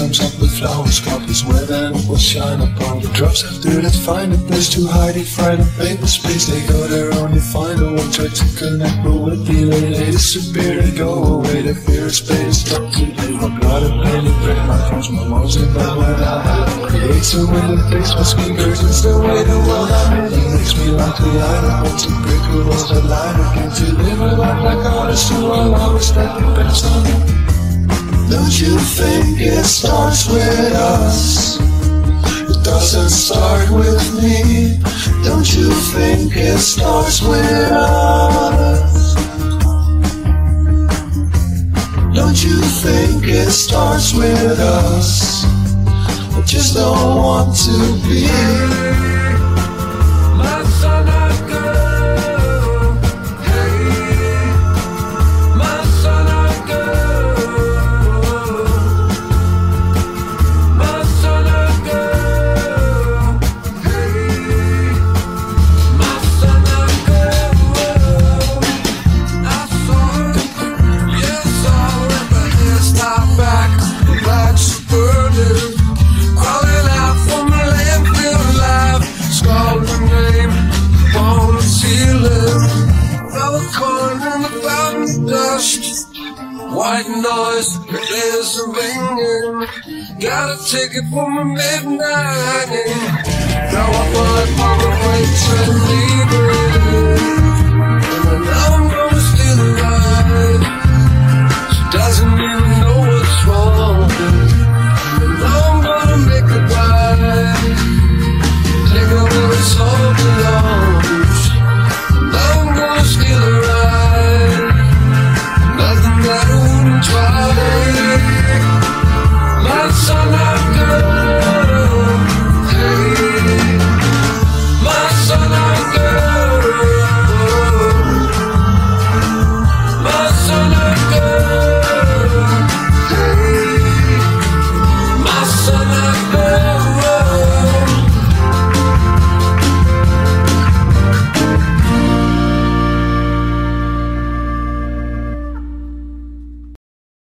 times up with flowers, copies where then it will shine upon the drops after that. Find a place to hide it, find a paper space. They go there only find a one, try to connect, but with delay they disappear, they go away. They fear of space, stop to do. My blood and pain and break my cross, my lungs and my word out. Creates a way that takes my speakers, it's the way the world I'm in. It makes me like to light up, want to break the walls that line again. To live a life like artists who are always that depends on me. Don't you think it starts with us? It doesn't start with me. Don't you think it starts with us? Don't you think it starts with us? I just don't want to be my son or girl. Hey, my son or girl. My son or girl. Hey, my son or girl. I saw her, yes, I saw her, but it's not back. Like she's burning, crawling out from the landfill alive. Scrawled her name on the ceiling. Fell a coin in the fountain dust. White noise, there's a ringing. Got a ticket for my midnight hanging. Now I find my way to leave it. And I know